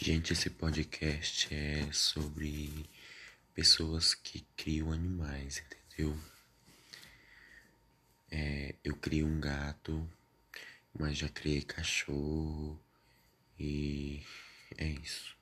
Gente, esse podcast é sobre pessoas que criam animais, entendeu? Eu crio um gato, mas já criei cachorro e é isso.